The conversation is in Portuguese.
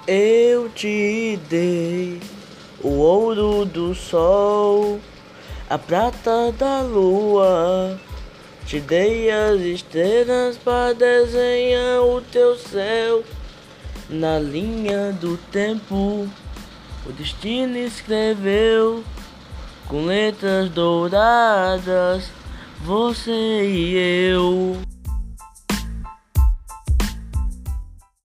Eu te dei o ouro do sol, a prata da lua. Te dei as estrelas para desenhar o teu céu. Na linha do tempo, o destino escreveu com letras douradas, você e eu.